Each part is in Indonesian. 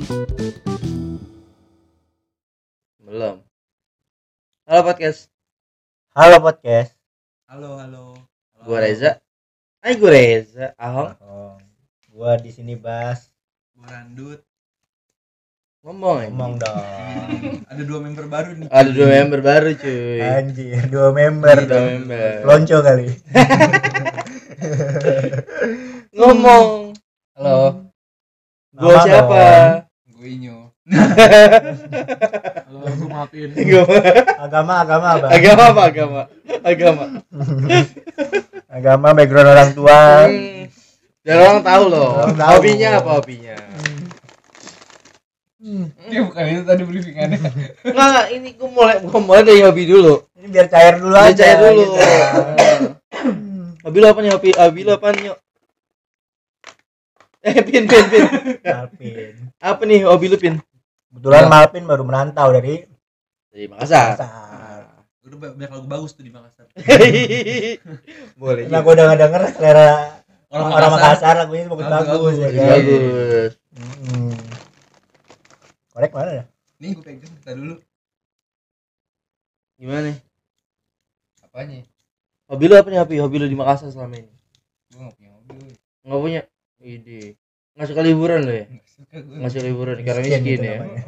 Belum. Halo podcast. Halo podcast. Halo. Gua Reza. Gue Reza. Ahong. Gua di sini Bas. Gua Randut. Ngomong dong. Ada 2 member baru nih. Ada 2 member baru cuy. Anjir, 2 member. Iya, 2 member. Lonco kali. Ngomong. Halo. Gua Nama siapa? Gue Inyo. Halo, gue maafin. Agama Bang. Agama apa agama? Agama background orang tua. Biar orang tahu loh. Orang tahu. Hobinya apa hobinya? Ya bukan itu tadi briefingannya. Enggak, ini gua mulai dari hobi dulu. Ini biar cair dulu Biar aja. cair dulu. Gitu. Hobi lo apa nih? Hobi lo apa nih? Pin. Malpin. Apa nih hobi lu, Pin? Kebetulan Malpin baru merantau dari Makassar. Udah banyak lagu bagus tuh di Makassar. Boleh. Nah, gua udah denger selera Orang orang Makassar lagunya bagus ya kan. Bagus. Korek mana ya? Nih gue pegang kita dulu. Gimana nih? Apanya? Hobi lu apa nih? Hobi lu di Makassar selama ini? Gue gak punya hobi. Enggak punya. Ide. Enggak suka liburan lo ya? Gak suka gue. Enggak suka liburan karena Miskin miskin itu ya. namanya.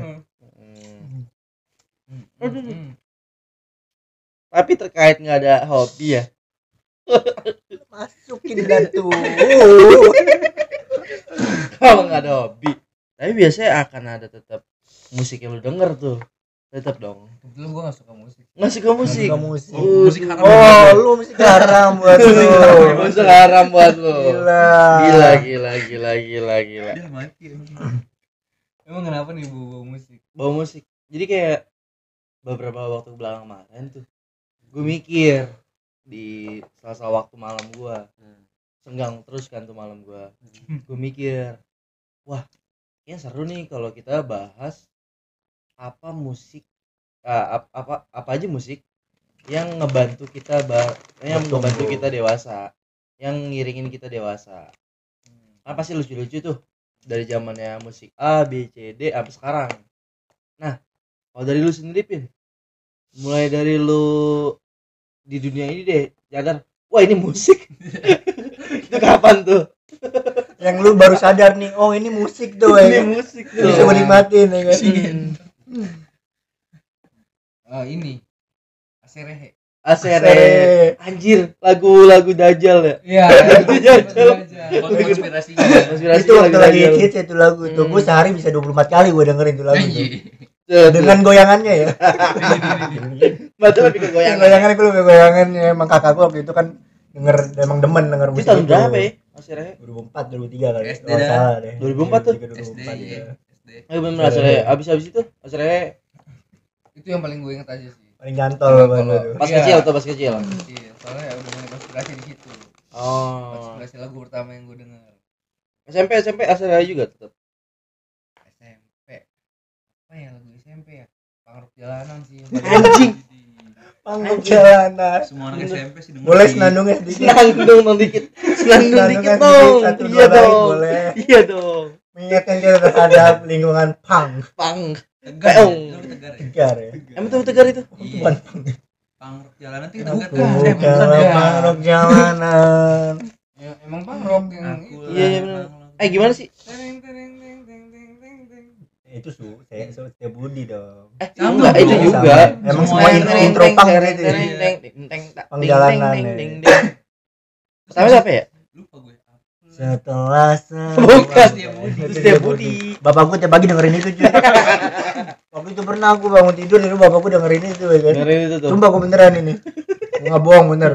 Tapi terkait enggak ada hobi ya. Masukin dah tuh. Kalau enggak ada hobi, tapi biasanya akan ada tetap musik yang lu denger tuh. Tetap dong. Kebetulan gue gak suka musik. Enggak suka musik. Suka musik. Musik haram. Oh, lu musik haram buat lu. Musik haram buat lu. Gila. Gila. Dia mati emang. Emang kenapa nih bawa musik? Bawa musik. Jadi kayak beberapa waktu belakang kemarin tuh gue mikir di salah waktu malam gue senggang terus kan tuh malam gue mikir wah kayaknya seru nih kalau kita bahas apa musik apa aja musik yang ngebantu kita ngebantu kita dewasa, yang ngiringin kita dewasa. Kan pasti lucu-lucu tuh dari zamannya musik A, B, C, D sampai sekarang. Nah, kalau dari lu sendiri Pin, mulai dari lu di dunia ini deh sadar, wah ini musik. Itu kapan tuh? Yang lu baru sadar nih, oh ini musik tuh ya. Ini musik tuh. Bisa menikmatin ya kan. Ini Aserehe. Asere. Anjir, lagu Dajjal ya. Iya, Dajjal. Konspirasinya. Itu waktu lagi hits itu lagu tuh. Gue sehari bisa 24 kali gue dengerin tuh lagu tuh. Dengan goyangannya ya. Betul lebih ke goyangan. Goyangannya gue lebih goyangannya. Emang kakak gue waktu itu kan emang demen denger Itu musik tahun itu. berapa ya? Asere. 2004, 2003 kali. SD Oh, dah. salah deh. 2004 tuh. 2003, SD. 2004 ya. Ayo bener Asere. Abis itu Asere Itu yang paling gue inget aja sih. Paling gantol banget tuh. pas Iya. kecil atau pas kecil. Iya, soalnya ya udah mulai konspirasi di situ. Oh. Konspirasi lagu pertama yang gue dengar. SMP Asere juga tetap. SMP. Apa ya lagu SMP ya? Pangrok jalanan sih. Anjing. Panggung jalanan. Semua anak SMP sih denger. Boleh senandungnya sedikit. Senandung dikit dong. Satu, Iya dua lain dong. boleh. Iya dong. Mengingatkan kita terhadap lingkungan punk. Pang. Tegar. Peong. Ya? Lu Tegar ya? Tegar ya. Emang tuh tegar itu? Iya. Bukan Pangrok jalanan tuh kita Bukan, Tegar. kalau punk jalanan. Ya, emang pangrok yang Iya, iya benar. Gimana sih? Tereng, tereng, tereng, tereng, tereng, tereng, tereng. Itu saya Setia Budi dong. Sama Enggak, itu dong. juga. Emang Semua semua yang intro punk gitu ya. Pengjalanan ya. Pertama siapa ya? Lupa gue. Setelah Bukan. Setia Setia Budi. Bapak gue tiap pagi dengerin itu cuy. Waktu itu pernah aku bangun tidur dari bapak gue dengerin itu ya kan. Dengerin itu tuh. Sumpah gue beneran ini. Gue nggak bohong bener.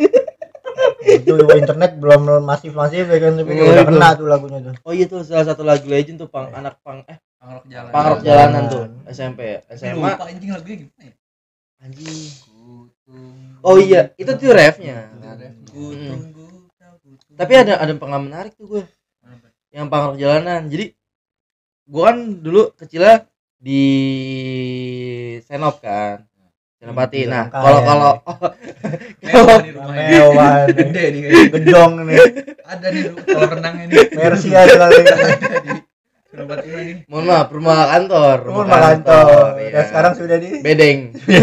Itu internet belum masif ya kan, tapi Oh, udah itu. kena tuh lagunya tuh. Oh iya tuh salah satu lagu legend tuh anak Pangrok jalanan. Pangrok jalanan tuh SMP ya. SMA Lupa anjing lagunya gimana ya? anjing. Kutung. Oh iya, itu tuh refnya. Kutunggu. Tapi ada pengalaman menarik tuh gue. Yang Pangrok jalanan. Jadi gue kan dulu kecilnya di Senop kan. Senopati. Nah, kalau Mewah nih. Gede nih kayaknya. Gedong nih. Ada nih kalau renangnya nih. Mercy ada kali. Ada nih. Senopati mana nih? Mohon maaf, rumah kantor. Rumah kantor. Iya. Dan sekarang sudah di bedeng.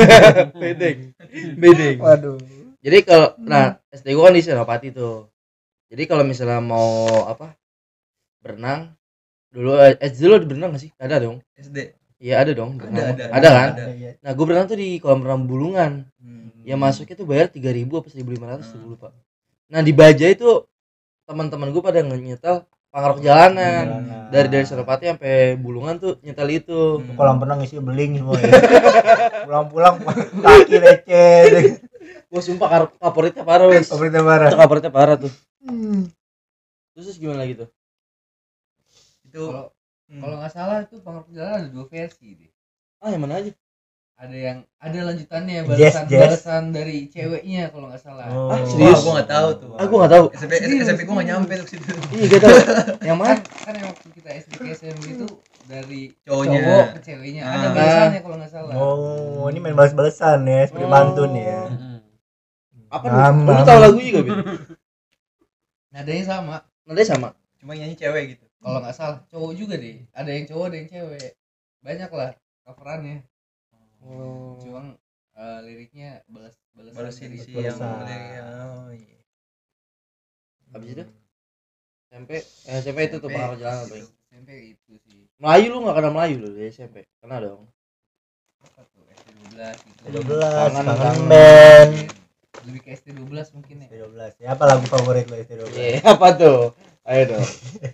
Bedeng. waduh. Jadi kalau SD gua kan di Senopati tuh. Jadi kalau misalnya mau berenang dulu SD lu berenang nggak sih? Ada dong. SD. Iya ada dong. Ada Kan? ada. Iya. Nah, gue berenang tuh di kolam renang Bulungan. Ya masuknya tuh bayar 3.000 apa 1.500 tuh lupa. Nah, di Bajai itu teman-teman gue pada nyetel pangrok jalanan. Dari Senopati sampai Bulungan tuh nyetel itu. Kolam renang isi beling semua ya. Pulang-pulang kaki lecet. Gua sumpah favoritnya parah, wes. Pemerintah marah. Itu favoritnya parah tuh. Terus gimana lagi tuh? Itu Kalau nggak salah itu pangrok jalan ada 2 versi deh. Yang mana aja? Ada lanjutannya Jazz. balasan dari ceweknya kalau nggak salah. Oh. Serius? Gua enggak tahu tuh. Gua enggak tahu. SMP gua enggak nyampe tuh ke situ. Iya, gak tahu. Yang mana? Kan yang waktu kita SD ke SMP itu dari Cowoknya. cowok ke ceweknya ada balasannya kalau nggak salah. Oh, ini main balas-balasan ya, seperti pantun ya. Apa Mama. lu tahu lagunya gak, Bin? Nadanya sama. Nadanya sama. Cuma nyanyi cewek gitu. Kalau nggak salah cowok juga deh. Ada yang cowok, ada yang cewek. Banyak lah coverannya. Cuma liriknya Balas dari si Balasan. yang oh iya. Habis itu SMP itu tuh pangrok jalanan paling. SMP itu sih. Melayu lu enggak kenal Melayu lu di SMP. Kena dong. Apa tuh? SD 12 gitu. 12 Kangen, kangen kangen. band. Lebih ke SD 12 mungkin ya. 12. Ya, apa lagu favorit lo SD 12? Iya, apa tuh? Ayo dong.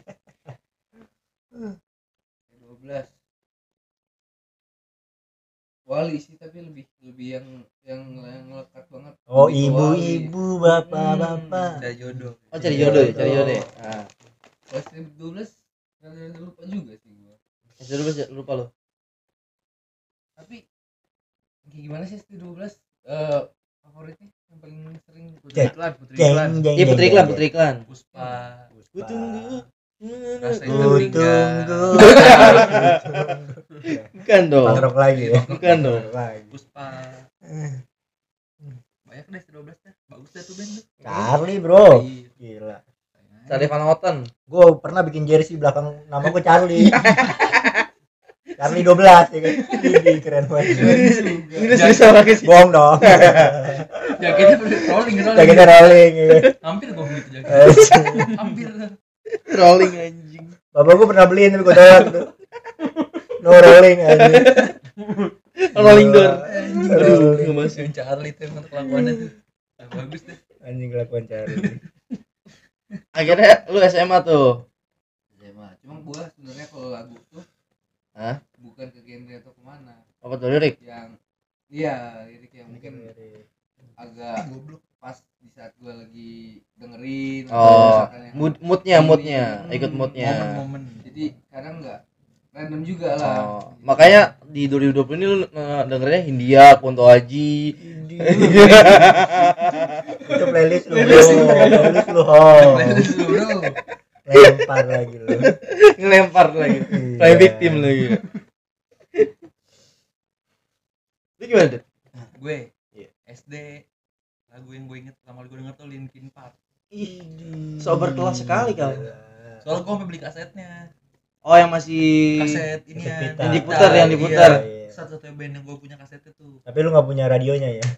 12 Wali sih tapi lebih yang ngelekat banget. Oh, Lebih ke Wali. ibu-ibu, bapak-bapak. Cari jodoh. Oh, cari jodoh ya, cari jodoh. Ya? Nah, Kalau SD 12 rada lupa juga sih gua. SD 12 lupa lu. Tapi kayak gimana sih SD 12 favoritnya yang paling sering Cek. Putri Iklan. Iya, Putri Iklan. Puspa. Ku tunggu. Rasa Ku itu tinggal. tunggu. Bukan dong. Pangrok lagi ya. Bukan dong. Pangrok lagi. Puspa. Banyak deh 12 dah. Bagus dah tuh band tuh. Charlie, Bro. Iya. Gila. Charlie Van Houten. Gue pernah bikin jersey belakang nama gue Charlie. Charlie 12 ya kan. Ini keren banget. Ini susah pakai sih. Bohong dong. Jaketnya rolling. Jaketnya rolling ya. Hampir gua beli tuh jaket. Hampir. Rolling anjing. Bapak gue pernah beliin tapi gue tolak tuh. No rolling anjing. Rolling door. Aduh, Enggak masuk. Yang Charlie tuh emang kelakuannya tuh. Bagus deh. Anjing kelakuan Charlie. Akhirnya lu SMA tuh. SMA. Cuma gua sebenarnya kalau lagu tuh bukan ke genre atau kemana. Apa tuh lirik? Yang lirik yang mungkin agak pas di saat gua lagi dengerin Oh, misalkan yang moodnya, ikut moodnya. Momen-momen. jadi kadang nggak random juga lah. Oh, makanya di 2020 ini lu dengerinnya Hindia, Kunto Aji. Itu playlist lu bro. Playlist lu ho. Playlist lu, bro. Lempar lagi lu. Ngelempar lagi. Iya. Play victim lagi. Lu gimana tuh? Gue Iya. SD lagu yang gue inget pertama kali gue denger tuh Linkin Park. Sober kelas sekali kali. Soalnya gue sampai beli kasetnya. Oh, yang masih Kaset ini ya. Yang diputar, yang diputar. Iya. Satu-satunya band yang gue punya kasetnya tuh. Tapi lu gak punya radionya ya?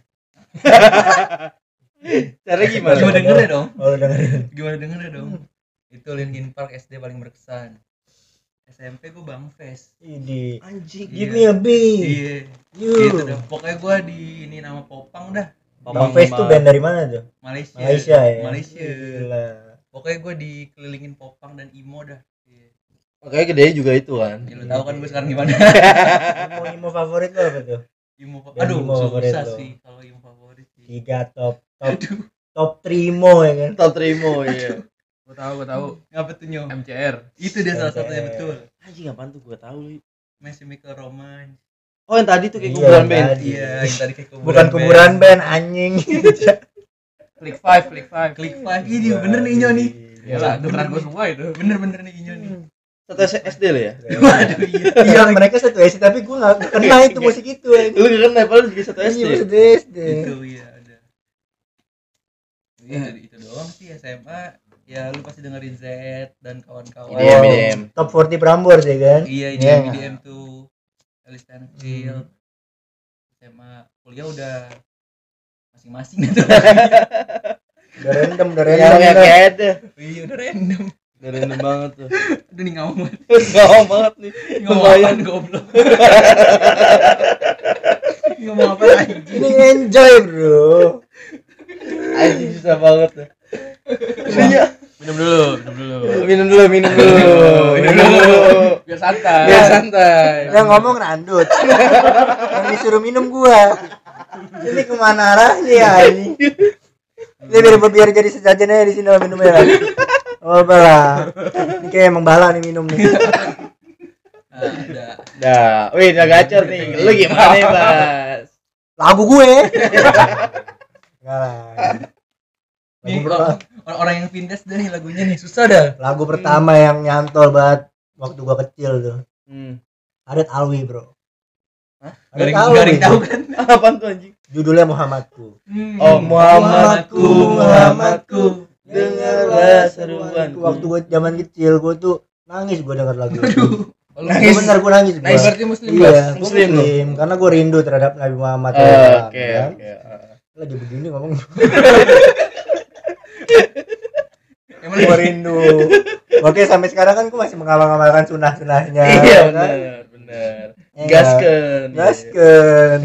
Caranya gimana? Gimana dengernya dong? Oh lu dengerin. Gimana dengernya dong? Itu Linkin Park SD paling berkesan. SMP gue Bang Fest. Ini Anjing. Give me a beat. Iya. You. Gitu dah. Pokoknya gue di ini nama Popang dah. Bang Face tuh band dari mana tuh? Malaysia. Malaysia ya. Malaysia. Gila. Pokoknya gue dikelilingin Popang dan emo dah. Iya. Makanya gede juga itu kan. Ya, lu tahu kan gue sekarang gimana? Emo favorit lo apa tuh? Emo. Band Aduh, emo favorit susah lo. sih kalau emo favorit sih. 3 top Aduh. 3 emo ya kan? Top Trimo ya. Gua tahu Ngapa tuh Nyo? MCR. Itu dia salah satunya betul. Anjing apaan tuh gua tahu lu. My Chemical Romance. Oh, yang tadi tuh kayak Iya, kuburan yang band. tadi. Iya, yang tadi kayak kuburan. Bukan kuburan band anjing. Click 5. Klik 5 ini bener nih Nyo nih. Iyalah, dengeran gua semua itu. Bener nih Nyo nih. Satu SD lo ya? Waduh iya. Iya mereka satu SD tapi gue gak kena itu musik itu anjing. Lu gak kenal padahal juga satu SD. Iya satu SD. Itu iya ada. Iya itu doang sih SMA. Ya lu pasti dengerin Z dan kawan-kawan. IDM, IDM. Top 40 Prambors ya kan? Iya, Iya. IDM tuh. Alice Field. SMA kuliah udah masing-masing gitu. Udah random Ya kayak ada. Iya, udah random. Udah random banget tuh. Udah nih ngomong Ngomong banget nih. apaan goblok. Ngomong apa anjing? Ini enjoy bro. Anjing susah banget tuh. Iya. Minum dulu. Minum dulu. Biar santai. Biar santai. Yang ngomong Randut. Yang disuruh minum gua. Ini kemana arahnya ya ini? Ini biar jadi sejajan aja di sini lah minumnya lah. Oh bala. Ini kayak emang bala nih minum nih. Udah. Dah, wih udah gacor nih. Lu gimana ya, Bas? Lagu gue. Enggak lah. Nih orang yang pindas dah nih lagunya nih susah dah. Lagu pertama yang nyantol banget waktu gua kecil tuh. Adat Alwi, bro. Hah? Garing tahu kan? Apaan tuh anjing? Judulnya Muhammadku. Oh, Muhammadku, Muhammadku. dengarlah seruanku. Waktu gua zaman kecil gua tuh nangis gua denger lagu itu. Nangis. Bener gua nangis gua. Nangis berarti muslim, Iya, Bas? gua Muslim muslim, karena gua rindu terhadap Nabi Muhammad. Oke. Lagi begini ngomong Emang gua rindu. Oke, sampai sekarang kan gua masih mengamal-amalkan sunnah-sunnahnya. Iya, kan? bener. Iya. Gaskeun. Gaskeun.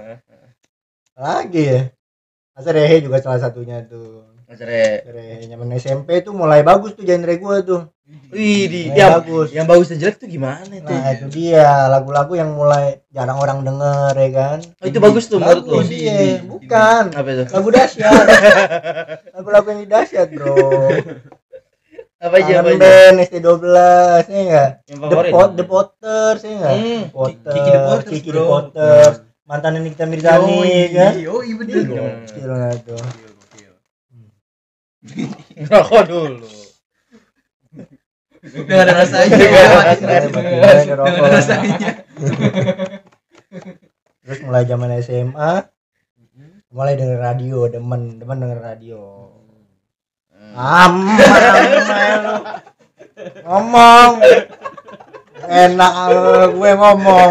Lagi ya. Masa Rehe juga salah satunya tuh. Masre. Rehe zaman SMP tuh mulai bagus tuh genre gua tuh. Wih, di Mulai bagus. yang bagus dan jelek tuh gimana tuh? Nah, itu dia lagu-lagu yang mulai jarang orang denger ya kan. Oh, itu bagus tuh menurut lu. Bagus iya, bukan. Apa itu? Lagu dahsyat. Lagu-lagu yang dahsyat, Bro. Apa aja? Apa Kangen aja? Band ST12 ya enggak? Yang favorit? The Potters ya enggak? Potters, Kiki The Potters, Kiki The bro. Potters. Mantan Nikita Mirzani kan. Yoi bener Iya, dong. gokil banget tuh. Rokok dulu. Udah gak ada rasanya. Udah ada rokok. Udah ada rasanya. Terus mulai zaman SMA mulai denger radio, demen denger radio. Lu ngomong enak gue ngomong.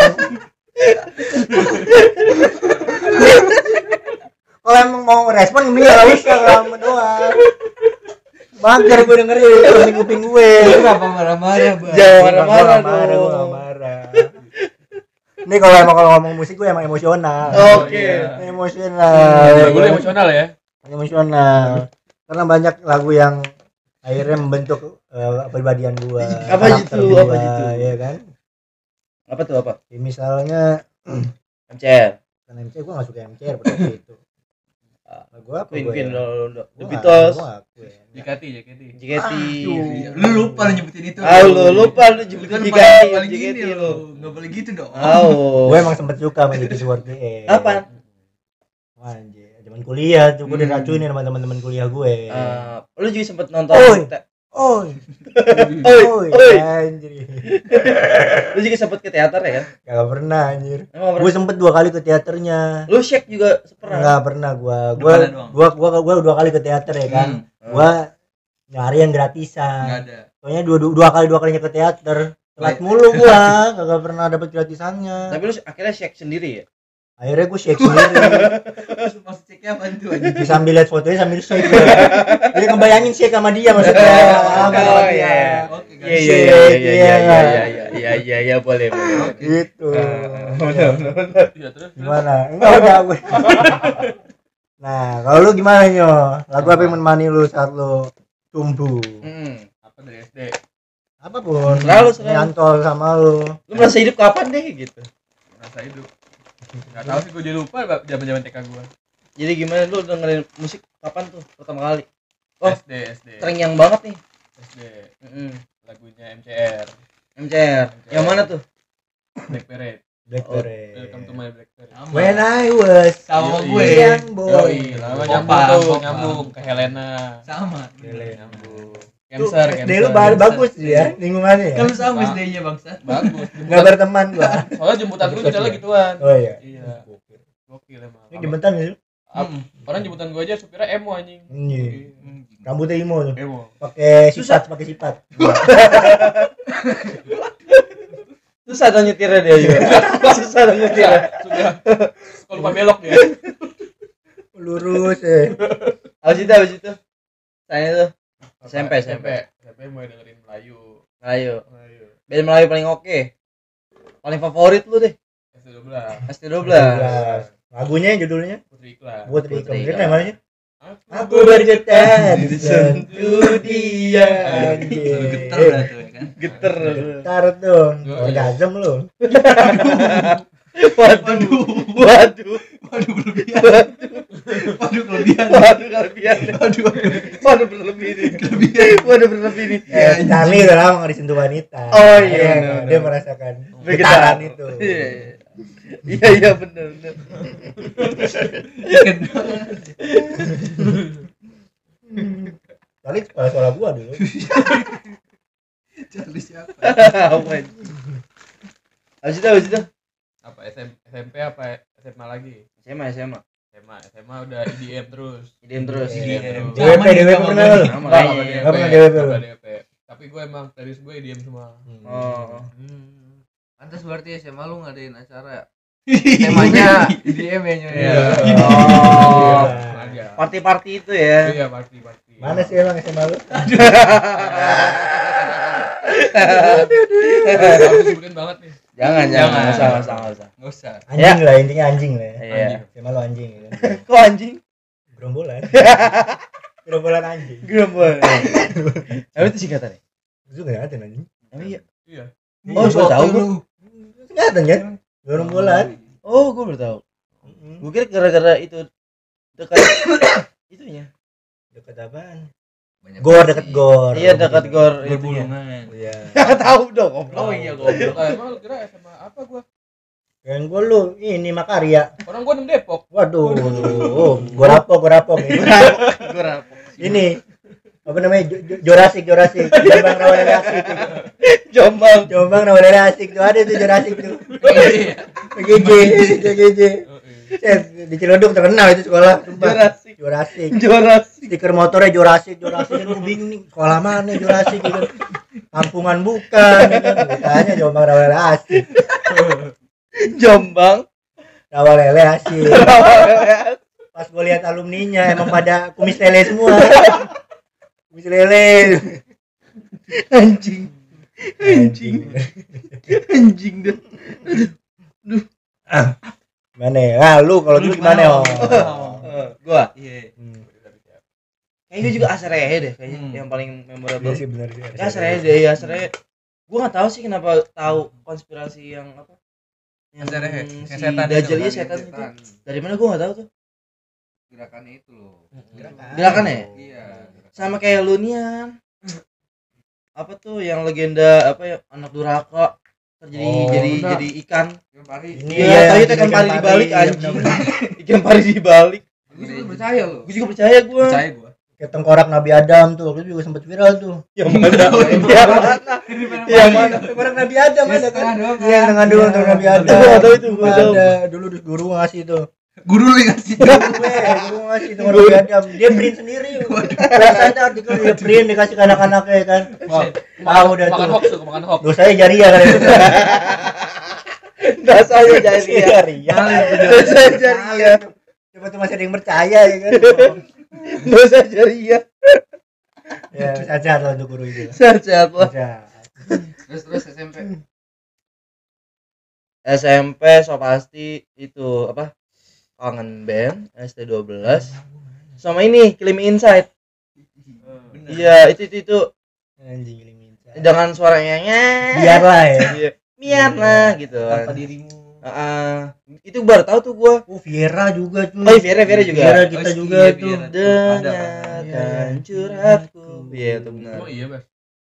Kalau emang mau respon mending gak usah lama doang. Mager gue dengerin di kuping gue. Kenapa marah-marah, Bang? Jangan marah-marah Gue dong. gak marah. Ini kalau ngomong musik gue emang emosional. Oke. Emosional. Lagu lu emosional ya? Emosional. Karena banyak lagu yang akhirnya membentuk kepribadian gua. Apa karakter gitu? gua, Apa gitu? ya kan? Apa tuh apa? Ya, misalnya MCR. kan MCR gua enggak suka MCR pada waktu itu. Lagu apa Queen gua Queen ya? The Beatles. JKT. JKT. Lu lupa lu nyebutin itu. Lu lupa lu Lu jemput kan JKT. paling gini JKT lu. lu. Enggak boleh gitu dong. Gua emang sempet suka sama JKT48. Apa? Wah, anjir, zaman kuliah tuh gua diracunin sama teman-teman kuliah gue. Lu juga sempet nonton. Oi. Oi. Oi. Oi. Anjir. Lu juga sempet ke teater ya kan? Gak pernah anjir. Emang Gue sempet 2 kali ke teaternya. Lu Shake juga pernah? Enggak pernah gua Depannya doang. gua 2 kali ke teater ya kan. Gua nyari yang gratisan. Enggak ada. Soalnya dua kalinya ke teater. Telat mulu gua, kagak pernah dapat gratisannya. Tapi lu akhirnya Shake sendiri ya? Akhirnya gua shake sendiri. Maksud ceknya apa tuh anjing? Sambil lihat fotonya sambil shake. Dia ngebayangin shake sama dia maksudnya. Oh, iya. Oke, guys. Iya, boleh. Gitu. Iya, terus. Gimana? Enggak udah gue. Nah, kalau lu gimana Nyo? Lagu apa yang menemani lu saat lu tumbuh? Apa dari SD? Apapun. Selalu. Nyantol sama lu. Lu merasa hidup kapan deh gitu? Merasa hidup. Enggak tahu sih, gue jadi lupa zaman-zaman TK gua. Jadi gimana lu dengerin musik kapan tuh pertama kali? Oh, SD. terngiang banget nih. SD. Lagunya MCR. MCR. Yang mana tuh? Black Parade. Blackberry. Welcome to my Black Parade. When I was Sama Yoi. gue. young boy. Lama Kopang. nyambung ke Helena. Sama. Nyambung. Tuh, Cancer, SD lu bagus sih ya lingkungannya ya. Kan lu sama SD-nya bangsat. Bagus. Enggak berteman gua. Soalnya jemputan gue misalnya gituan. Oh iya. Iya. Gokil emang. Ini jemputan sih. Orang jemputan gue aja supirnya emo anjing. Iya. Rambutnya imo tuh. Emo. Pakai sifat. Susah dong nyetirnya dia juga. Susah dong nyetirnya. Sudah. Kalau lupa belok dia. Lurus Habis itu. Saya tuh SMP. SMP mulai dengerin Melayu. Melayu. Band Melayu paling oke. Paling favorit lu deh. ST12. ST12. Lagunya judulnya Putri Iklan. Putri Putri Iklan. Iklan. Namanya Aku bergetar disentuh dia. Getar dah tuh ya kan. Geter. Getar tuh. Orgasm lu. Waduh. Waduh kelebihan. Waduh berlebih nih. Charlie udah lama nggak disentuh wanita. Oh iya, bener. Dia merasakan Bergetaran. getaran itu. Iya benar. Charlie kepala sekolah gua dulu. Charlie siapa? Habis itu. Apa SMP apa SMA lagi? SMA. SMA udah IDM terus. IDM. DWP pernah lu? Sama Enggak kayaknya. Nggak pernah DWP. Enggak DWP. Tapi gue emang playlist gue IDM semua. Oh. Pantas berarti SMA lu ngadain acara. Temanya IDM ya nyoy. Iya. Oh. Sengaja. Party itu ya. Iya, party. Mana sih emang SMA lu? Harus disebutin banget nih. Jangan. Enggak usah. Anjing lah, intinya anjing lah. Iya. SMA lu anjing ya. Kok anjing? Gerombolan. Gerombolan anjing. Gerombol. Tapi itu singkatannya. Itu enggak ada anjing. Emang iya. Iya. Oh, gua tahu gua. Enggak ada kan? Gerombolan. Oh, gua baru tahu. Gua kira gara-gara itu dekat itunya. Dekat apaan? Banyak Gor, banget dekat sih. gor. Iya, dekat gor itunya. Berbulungan. Iya. Enggak tahu dong, goblok. Oh iya goblok. Emang lu kira SMA apa gua? Yang gua lu ini Makarya. Orang gua 6 Depok. Waduh. Gor apa nih. Gor apa? Ini apa namanya? Jurassic. Jombang Rawadari asik. Jombang Rawadari asik tuh ada tuh Jurassic tuh. GG. Di Cilodong terkenal itu sekolah. Jurassic. Stiker motornya Jurassic. Gue bingung nih sekolah mana Jurassic gitu. Kampungan bukan gitu. Tanya Jombang Rawadari asik. Jombang. Rawadari asik. Pas gue lihat alumninya emang pada kumis lele semua. Kumis lele. Anjing dah. Mana ya? Lu kalau dulu gimana? Gua. Iya. Kayaknya gue juga Asrehe deh kayaknya yang paling memorable. Iya sih benar sih. Asrehe. Gue nggak tahu sih kenapa tahu konspirasi yang apa? Asrehe. Si Yang setan itu, Dajjal kan? setan itu. Setan. Dari mana gue nggak tahu tuh. Gerakannya itu loh. Gerakannya ya? Iya. Sama kayak Lunian. Apa tuh yang legenda apa ya anak durhaka jadi ikan. Yang pari. Ini Iya, tapi itu ikan pari dibalik anjing. Ikan pari dibalik. Gue juga percaya loh. Gue juga percaya gue. Percaya gue. Kayak tengkorak Nabi Adam tuh, itu juga sempat viral tuh. Yang mana? Tengkorak Nabi Adam ada kan? doang Iya, dengan doang tengkorak Nabi Adam. Gua nggak tahu itu, gua tahu. Ada dulu guru ngasih tuh. Guru lu yang ngasih. Guru ngasih tengkorak Nabi Adam. Dia print sendiri. Biasanya artikel dia print dikasih ke anak-anaknya kan. Tahu dah Makan tuh. hoax tuh, makan hoax. Dosanya jariah kan itu. Dasarnya jariah. Dosa jariah. Coba tuh masih ada yang percaya ya kan. Dosa jariah. Ya, sehat lah untuk guru itu. Sehat lah. Sehat. Terus SMP. SMP so pasti itu apa? Kangen Band ST12 sama ini Kill Me Inside. Iya, itu Anjing limin. dengan suaranya Biarlah ya. Iya. Biarlah gitu. Tanpa dirimu. Itu baru tahu tuh gua. Oh, Viera juga tuh. Oh, Viera juga. Viera kita juga Iya, tuh. Viera. Dengarkan curhatku. Iya, itu benar. Oh iya, Bas.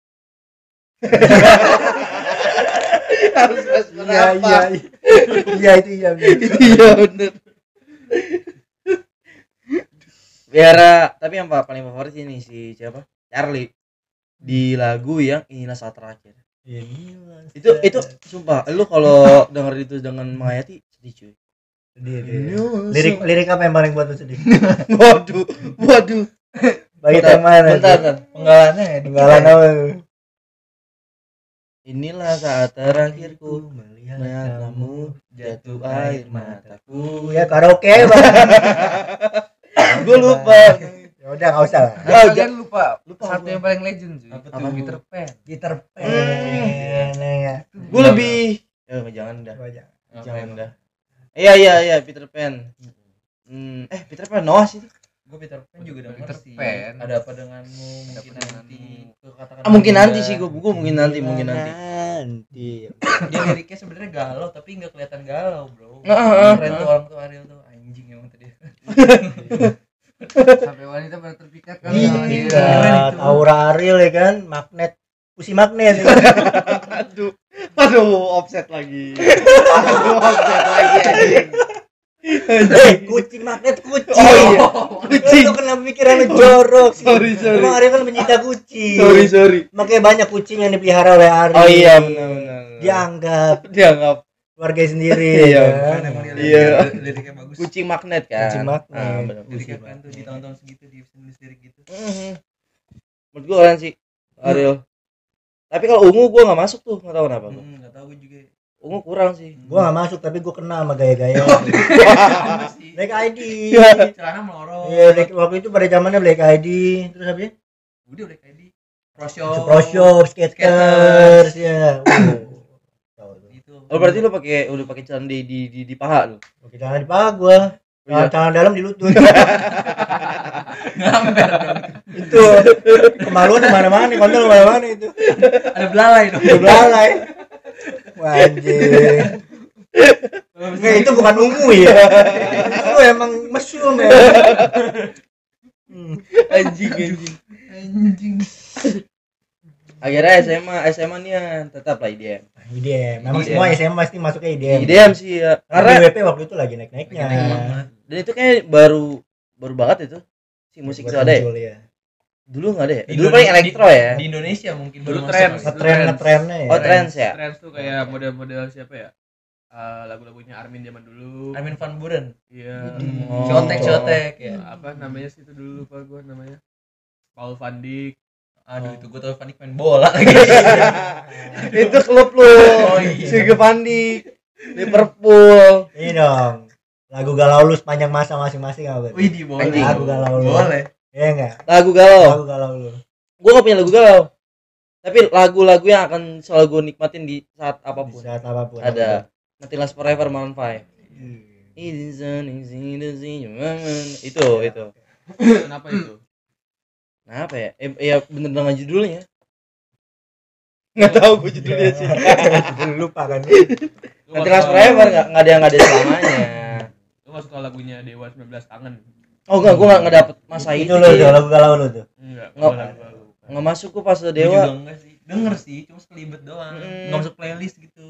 Harus Mas Iya. Iya itu iya. Iya benar. Viera, tapi yang paling favorit ini si siapa? Charlie. Di lagu yang Inilah Saat Terakhir. Iya. Itu sumpah, lu kalau denger itu dengan menghayati sedih cuy. Lirik apa yang paling buat lu sedih? Waduh. Bagi yang mana? Bentar. Penggalannya ya. Penggalan apa lu? Inilah saat terakhirku Melihat melihat kamu jatuh air mataku. Ya karaoke bang. Gue lupa. Ya udah nggak usah lah. Kalian lupa satu apa? yang paling legend cuy. Apa tuh? Peter Pan. Peter Pan ya. Gue lebih. Jangan dah. Jangan dah. Iya Peter Pan. Peter Pan Noah sih. Gue Peter Pan juga denger Peter sih. Pan. Ada apa denganmu? Mungkin nanti. Mungkin nanti sih gue mungkin nanti. Nanti. Dia liriknya sebenarnya galau tapi nggak kelihatan galau bro. Heeh. Keren tuh orang tuh Ariel tuh anjing emang tadi. Sampai wanita pada terpikat kan sama dia. Iya, Aura Ariel ya kan, magnet. Pusi magnet. Aduh, offset lagi. Anjing. Kucing magnet kucing. Oh iya. Kucing. Lu kenapa pikiran lu jorok sih? Sorry. Emang Ariel kan pencinta kucing. Sorry. Makanya banyak kucing yang dipelihara oleh Ariel. Oh iya benar. Dianggap keluarga sendiri. Iya, kan? Emang dia Iya. liriknya bagus. Kucing magnet kan. Kucing magnet. Benar. Liriknya kan tuh di tahun-tahun segitu di nulis lirik gitu. Menurut gue keren sih Ariel. Tapi kalau ungu gue nggak masuk tuh, nggak tahu kenapa. Nggak tahu gue juga. Ungu kurang sih. Gua gak masuk tapi gua kena sama gaya-gaya. Black ID. Celana melorot. Iya, waktu itu pada zamannya Black ID. Terus apa ya? Udah Black ID. Pro Shop, skaters ya. Itu. Oh berarti lu udah pakai celana di paha lu. Oke, jangan di paha gua. Iya. Celana dalam di lutut. Ngamber dong. Itu kemaluan di mana-mana, kontol mana-mana itu. Ada belalai dong. Udah belalai. Anjir. Nggak, itu bukan ungu ya. Itu emang mesum ya. Anjing. Akhirnya SMA nih tetap lah IDM. IDM. Memang IDM. semua SMA pasti masuknya IDM. IDM sih ya. Karena Karena WP waktu itu lagi naik-naiknya. dan itu kayak baru banget itu si musik itu ada ya. Muncul, ya. Dulu nggak ada ya. Di Dulu paling elektro ya. Di Indonesia mungkin Dulu baru tren. masuk. Ngetrennya ya. Oh trends ya. Trends tuh kayak model-model siapa ya? Lagu-lagunya Armin zaman dulu. Armin van Buuren. Iya. Oh. Contek ya. Apa namanya sih itu dulu lupa gua namanya. Paul Van Dijk. Aduh itu gue tau Van Dijk main bola lagi. Itu klub lu. Oh, iya. Sige Pandi. Liverpool. Ini dong. Lagu galau lu sepanjang masa masing-masing apa? Wih di boleh. Anjing. Lagu galau lu. Boleh. Iya enggak? Lagu galau. Lagu galau lu. Gue gak punya lagu galau. Tapi lagu-lagu yang akan selalu gue nikmatin di saat Di apapun. saat apapun. Ada Nothing Lasts Forever Maroon 5. Itu. Kenapa itu? Nah apa ya? Ya bener dengan judulnya. Nggak tahu gue judulnya sih. Lupa kan. Nothing Lasts Forever nggak ada selamanya. Lu gak suka lagunya Dewa 19 Tangan? Oh enggak, gue nggak dapet masa Itu itu. lu sih. tuh lagu galau lu tuh. Enggak. Nggak. Lagu. Nggak masuk gue pas Gue juga Dewa. enggak sih. Denger sih, cuma sekelibet doang. Enggak masuk playlist gitu.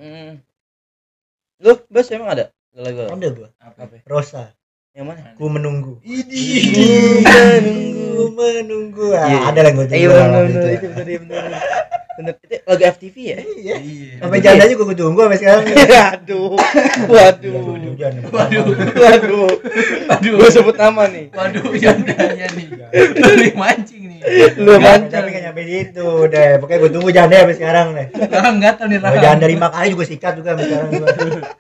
Lu Bas emang ada lagu? Ada gua. Apa? Rosa. Yang mana? Ku menunggu. Ku Ku menunggu. Iya. Ada lah gua tunggu. Iya waktu bener itu. itu bener. Bener itu lagu FTV ya? Iya. Iya. Sampai jandanya gua tunggu sampai sekarang. Aduh. Waduh. Waduh. Gue sebut nama nih. Waduh, jandanya nih. Lu mancing nih. Lu mancing. Tapi kan nyampe situ deh. Pokoknya gua tunggu janda sampai sekarang deh. Lah enggak tahu nih Kalau Rahang. janda 5 kali juga sikat juga sampai sekarang gua.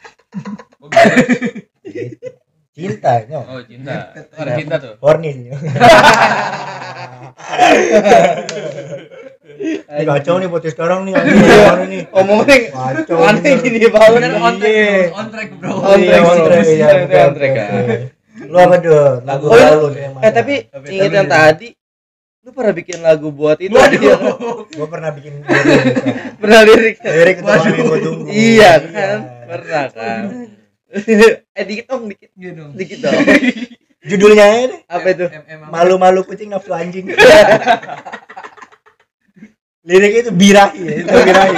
Cinta, no. Oh cinta. Ada cinta tuh. Horny sih. Ini kacau nih podcast sekarang nih. Gimana nih? Omongnya Kacau. aneh bener. gini banget. Bener on track, Iya. bro. On track, bro. On track, On track, sih. iya, Itu betul, on track, betul, kan. betul. Lu apa tuh? Lagu Oh, galau lu yang mana? tapi Tapi inget yang tadi lu pernah bikin lagu buat itu Waduh. dia. Gua pernah bikin Pernah lirik lirik itu yang gua tunggu. iya kan pernah kan dikit Iya dong. dong Judulnya ini apa itu malu-malu kucing nafsu anjing. Liriknya itu birahi ya, itu birahi.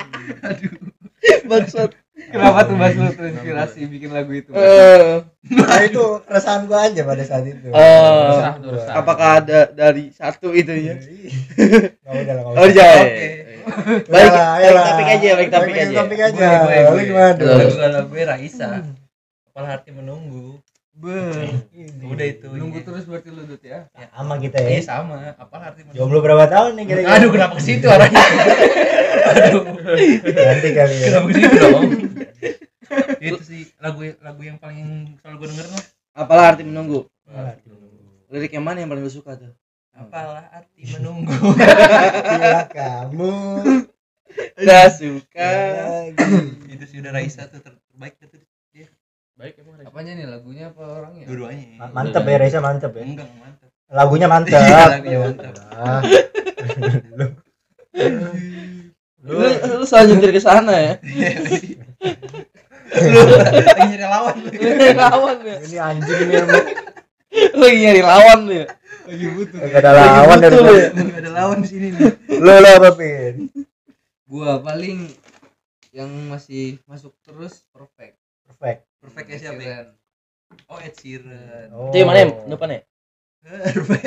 maksud Kenapa tuh Mas lu terinspirasi bikin lagu itu? Nah itu keresahan gua aja pada saat itu. Resah tuh, resah. apakah ada dari satu itu ya Nggak udah lah, nggak oh usah. iya Oke. balik Ayolah, ayolah. topik aja balik topik Balik aja topik aja. Boleh, Lu gimana? Betul. Lagu galau gue Raisa. Apalah arti menunggu. Udah itu Nunggu ya. terus berarti lu Dut ya. Ya, sama kita ya. Sama. Apalah arti menunggu. Jomblo berapa tahun nih kira-kira? Aduh, kenapa ke situ arahnya? Aduh. Nanti kali ya. Kenapa ke situ dong? Itu sih lagu yang paling selalu gue denger lah. Apalah arti menunggu. Lirik yang mana yang paling lu suka tuh? Apalah arti menunggu. Bila kamu Udah suka. lagi. Itu sih udah Raisa tuh terbaik tuh. Baik emang Reza. Apanya nih, lagunya apa orangnya? Dua-duanya. Mantep ya Reza, mantep ya. Enggak mantap. Lagunya mantep. Iya, lagunya mantap. Ah. Lu selalu nyetir ke sana ya. Lu lagi nyari lawan lu. Lu nyari lawan ya. Ini anjing ini emang. Lu lagi nyari lawan lu ya. Lagi butuh. Gak ada lawan dari butuh gua. ya. Enggak ada lawan di sini nih. Lo apa Pin? Gua paling yang masih masuk terus Perfect. Perfect. Perfectnya siapa ya? Oh, Ed Sheeran. Oh. Itu yang mana ya? Depan ya? Perfect.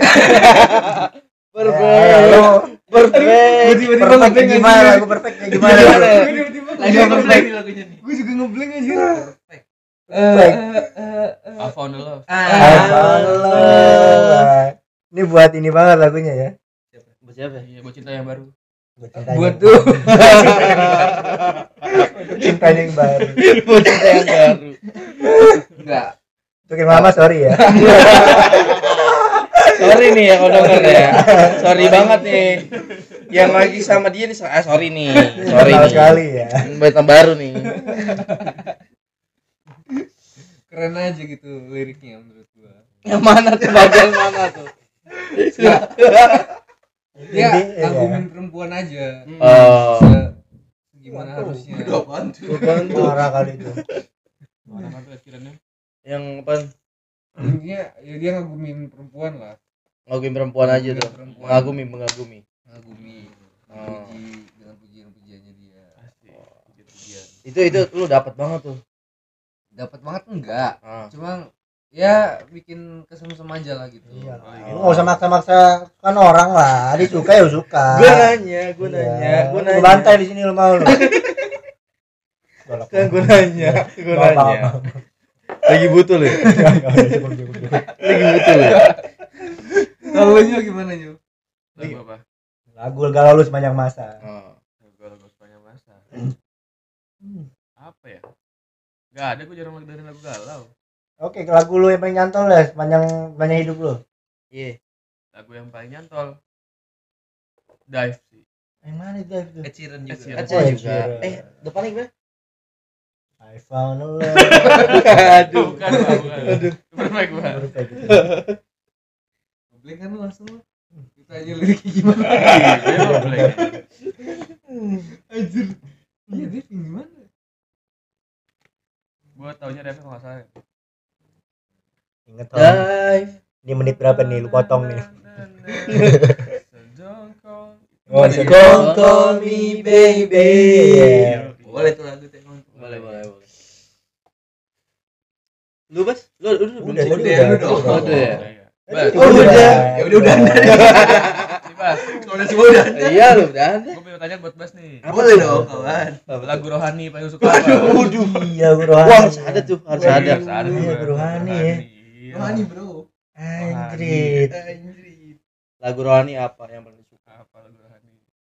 Perfect. Perfect gimana? Lagu perfectnya gimana? Lagi perfect lagunya nih. Gue juga ngeblank aja. Perfect. Perfect. I found the love. Allah. Ini buat ini banget lagunya ya. Buat siapa? Iya, buat cinta yang baru. Buat tuh. Cintanya yang baru. Buat cinta yang baru. Enggak. Untuk mama sorry ya. Sorry nih ya kalau denger ya. Sorry banget nih. Yang lagi sama dia nih, sorry nih. Sorry Kenal nih. sekali ya. Buat yang baru nih. Keren aja gitu liriknya menurut gua. Yang mana tuh? Bagian mana tuh? Dia Jadi, ngagumin perempuan aja. Oh. Gimana Waduh. harusnya? Udah bantu. Marah kali itu. Mana kan kiranya? Yang apa? Intinya ya dia ngagumin perempuan lah. Ngagumin perempuan aja tuh. Perempuan. Mengagumi. Ngagumi. Oh. Puji dengan pujian-pujiannya dia. Asik. Pujian. Itu lu dapat banget tuh. Dapat banget enggak? Ah. Cuma ya bikin kesemsem aja lah gitu. Iya. iya. Lu enggak usah maksa-maksa kan orang lah. Dia suka ya suka. Gue nanya. Gua bantai di sini lu mau lu. Kan gue nanya. Lagi butuh lu. Lagi butuh lu. Kalau lu gimana Nyu? Lagu apa? Lagu galau lu sepanjang masa. Oh. Lagu sepanjang masa. Apa ya? Gak ada, gue jarang dengerin lagu galau. Oke, lagu lu yang paling nyantol lah sepanjang hidup lu. Iya. Lagu yang paling nyantol Dive sih. Yang mana itu? Ed Sheeran juga. Ed Sheeran. Aceh juga. Depannya gimana? I found a love. Aduh. Bukan, bukan. Aduh. Perfect banget. Perfect gitu. Ngeblank kan lu langsung lu. Kita aja liriknya gimana? Iya, boleh. Anjir. Iya dia gimana? Gue taunya refnya kalau nggak salah. Ingat Tom. Dive. Ini menit berapa nih lu potong nih? Oh, Don't call me baby. Iya. Boleh tuh lagu tuh. Boleh. Lu Bas? Lu Udah, belum tadi sih? udah. Udah ya? Bas, Oh, udah. Ya udah. nih, Bas. Kalau udah semua udah. Iya lu udah ada. Gue punya pertanyaan buat Bas nih. Boleh dong, kawan. Lagu rohani paling suka apa? Iya, Guru Hani. Wah, harus ada tuh, harus Iya, ada. Iya, Guru Hani ya. Iya. Rohani, Bro. Anjrit. Anjir. Lagu rohani apa yang paling suka? Apa lagu rohani?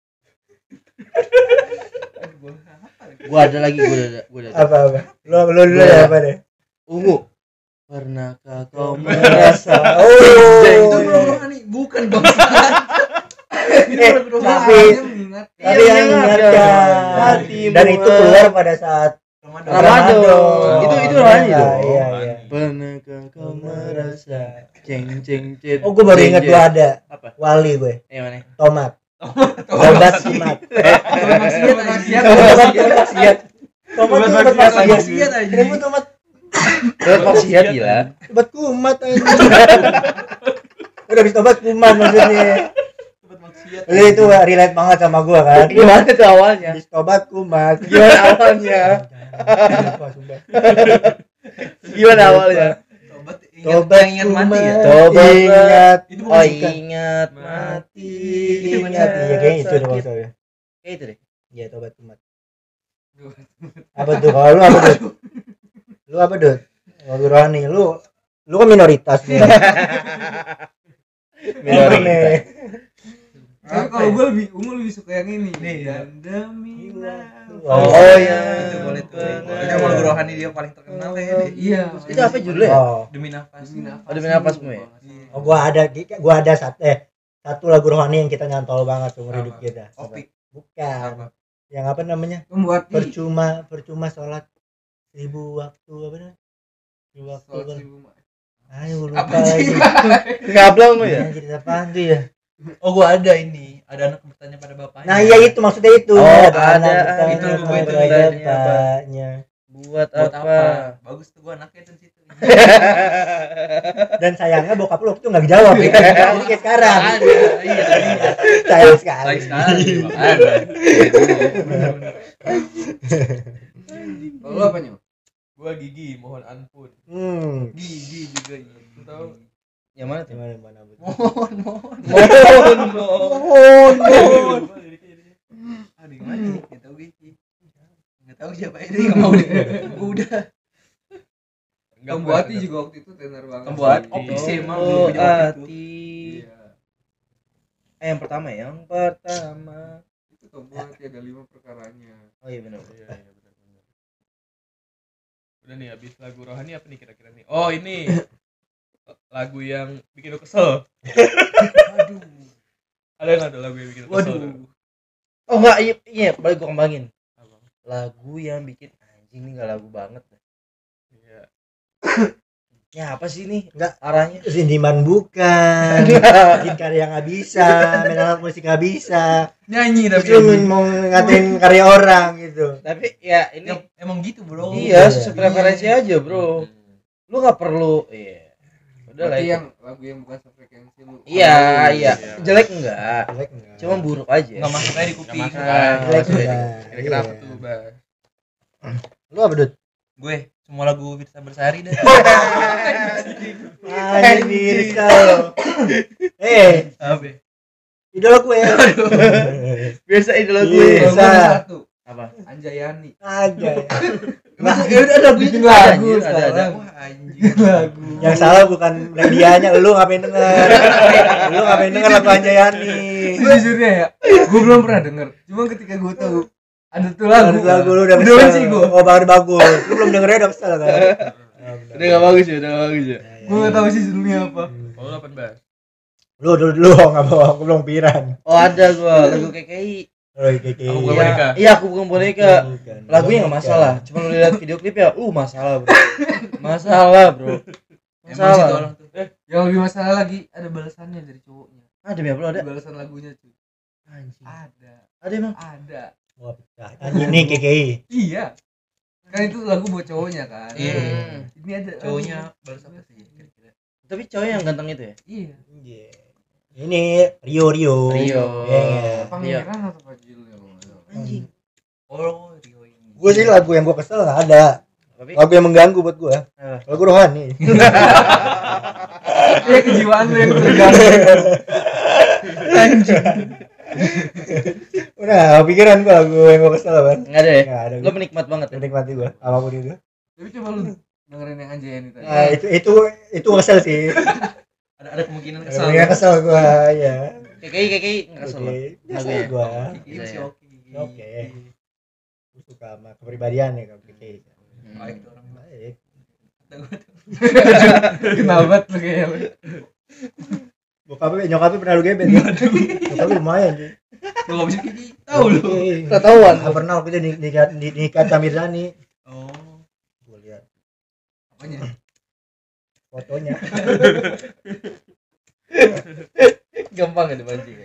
Gua ada lagi, gua ada. Apa? Lu dulu ya apa deh? Ungu. Pernahkah kau merasa? Itu Oh. Bro Rohani, bukan Bang. Tapi mengingat tapi yang ingatkan Hatimu. dan itu keluar pada saat Ramadan. Itu rohani Iya, dong. Iya, iya. Pernahkah kau merasa? Ceng cet. Oh, gue baru ingat gue ada Apa? wali gue. Mana? Tomat. Tobat simat. Maksiat. Tomat tuh obat maksiat. Kenapa tomat? Terus maksiat gila. Obat kumat aja. Udah habis tobat kumat maksudnya. Lu itu relate banget sama gua kan. Gimana tuh awalnya? Habis tobat kumat. Gimana awalnya? Lupa, sumpah. Gimana awalnya? Tobat ingat mati ya. Tobat ingat. Itu Oh, bukan ingat mati. Ingat. Iya kayaknya itu dong maksudnya. Kayak itu deh. Iya tobat kumat. Apa tuh kalau lu apa tuh? Lu apa Dut? Lagu rohani lu kan minoritas nih. Apa nih? Tapi kalau gue lebih suka yang ini nih. Dan demi Oh iya. Itu boleh tuh. Itu emang lagu rohani dia paling terkenal ya. Iya. Itu apa judulnya ya? Oh, Demi nafas. Demi nafasmu ya? oh gua ada satu lagu rohani yang kita nyantol banget seumur hidup kita. Opik. Bukan. Yang apa namanya? Membuat Percuma sholat 1000 waktu apa namanya? 1000 waktu. Ayo lupa Apa sih? lagi. Ngablang lu ya? Jadi apaan tuh ya? Oh gua ada ini. Ada anak bertanya pada bapaknya. Nah, iya itu maksudnya itu. Oh, anak ada. bertanya Itu pada gue itu bapaknya. Buat Buat apa? Bagus tuh gua anaknya tuh situ. Dan sayangnya bokap lu tuh nggak dijawab. Jadi kayak sekarang. Iya. Sayang sekali. Sayang sekali. Makanya. Kalau lu apa nyu? Gua Gigi, mohon ampun. Gigi juga iya. Lu tahu? Yang mana tuh? Mana Bu? Mohon. Aduh gimana nih? Enggak tahu Gigi. Enggak tahu siapa ini enggak mau deh. Gua udah. Pembuati juga waktu itu tenar banget. Pembuati. sih. Opik sih emang Oh, belum punya waktu itu. hati. Iya. Yang pertama. Itu Pembuati ada 5 perkaranya. Oh iya benar. Iya, benar. Udah nih, habis lagu rohani apa nih kira-kira nih? Oh, ini. Lagu yang bikin lu kesel. Aduh. Ada nggak tuh lagu yang bikin lu kesel? Waduh. Oh enggak, iya, balik gua kembangin. Apa? Lagu yang bikin anjing ini enggak lagu banget. Iya. Ya apa sih ini? Enggak. Arahnya. Sindiman bukan. Bikin karya nggak bisa, main alat musik nggak bisa. Nyanyi tapi. Terus lu mau ngatain karya orang gitu. Tapi ya ini Ya, emang gitu, Bro. iya sesuai preferensi aja, Bro. Lu enggak perlu udah lah Berarti itu. yang lagu yang bukan sefrekuensi lu. Iya. Iya. Jelek enggak? Jelek enggak? Cuma buruk aja. Enggak masuk aja di kuping. Nggak masuk. Nah, Jelek maksudnya enggak? Kira-kira apa Iya. tuh, Bas? Lu apa Dut? Gue semua lagu Firsa Bersari dah. Anjir kau. Apa? Idola gue. Biasa idola Iya. gue. Kalau gua ada satu. Apa? Anjayani. Aja. Nah, ya udah lagunya bikin juga ada, lagu anjir, ada. sekarang. Wah, anjing. Lagu. Yang salah bukan medianya, lu ngapain denger? Lu ngapain denger lagu Anjayani? Sejujurnya ya, gue belum pernah denger. Cuma ketika gue tahu ada tuh lagu, Lagu lu udah benci kesel. gue. Oh, baru bagus. Lu belum dengernya udah kesel kan? Udah enggak bagus ya, udah enggak bagus ya. Gue nggak tahu sih judulnya apa. Kalau lu apa, Bas? Lu dulu enggak bawa, aku belum piran. Oh, ada gua lagu KKI. Oh, keke. Aku bukan Iya, boneka. iya, aku bukan boneka. Bukan. Lagunya enggak masalah. Cuma lu lihat video klipnya, masalah, Bro. Masalah, Bro. Emang sih tuh Masalah. orang tuh. Yang lebih masalah lagi ada balasannya dari cowoknya. Ada ya, Bro, ada. Balasan lagunya cuy. Anjing. Ada. Ada emang. Ada. Wah, pecah. Anjing nih KKI. Iya. Kan itu lagu buat cowoknya kan. Iya. Ini ada Cowoknya balas apa sih kira-kira? Tapi cowok yang ganteng itu ya? Iya. Iya. Ini Rio. Rio. Iya. Pangeran atau apa judulnya kalau nggak salah. Anjing. Oh, Rio ini. Gue sih lagu yang gue kesel nggak ada. Tapi Lagu yang mengganggu buat gue. Apa? Lagu rohani. Iya kejiwaan lu yang terganggu. Udah, pikiran gue lagu yang gue kesel banget. enggak ada ya? Nggak ada. Lu penikmat banget ya? Menikmati gue apapun itu. Tapi coba lu dengerin yang Anjayani tadi. Nah, itu kesel sih. Ada kemungkinan kesal. Yang kesel gue, ya. KKI enggak kesel. Oke, Lagu kesel ya? gue. Ini masih oke. Oke. Gue suka sama kepribadian ya KKI. Baik tuh orang. Baik. Kenal banget lu kayaknya lu. Nyokapnya pernah lu gebet ya? Nyokapnya lumayan sih. Lu enggak bisa gigi. Tahu lu. Ketahuan. Nggak pernah waktu itu nikah Samir Zani. Oh, Gue lihat apanya? fotonya. Gampang ya dipancing.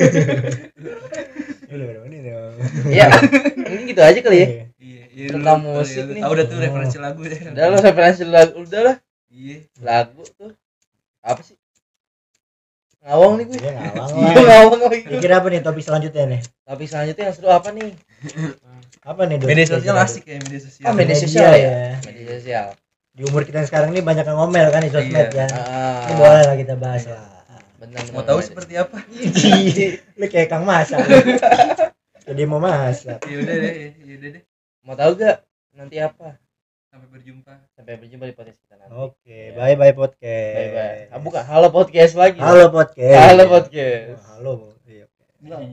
Udah ini dong. Iya. Mungkin gitu aja kali ya. Iya, Tentang musik nih. Tahu udah tuh referensi lagu ya. Udah lo referensi lagu udah lah. Iya. Lagu tuh apa sih? Ngawang nih gue. Dia ngawang Iya, lah. ngawang lagi. Kira apa nih topik selanjutnya nih? Tapi selanjutnya yang seru apa nih? Apa nih? Dut? Media sosial asik ya, media sosial. Ah, media Media sosial ya. ya. Media sosial. Di umur kita yang sekarang ini banyak yang ngomel kan di sosmed Iya. ya. Ah, Ini boleh lah kita bahas lah. benar. Mau tahu seperti apa? Lu kayak Kang Masak. Jadi mau masak. Ya udah deh. Mau tahu gak nanti apa? Sampai berjumpa. Sampai berjumpa di podcast kita nanti. Oke, Ya. bye bye podcast. Bye bye. Bukan halo podcast lagi. Halo podcast. Halo podcast. Halo. Iya.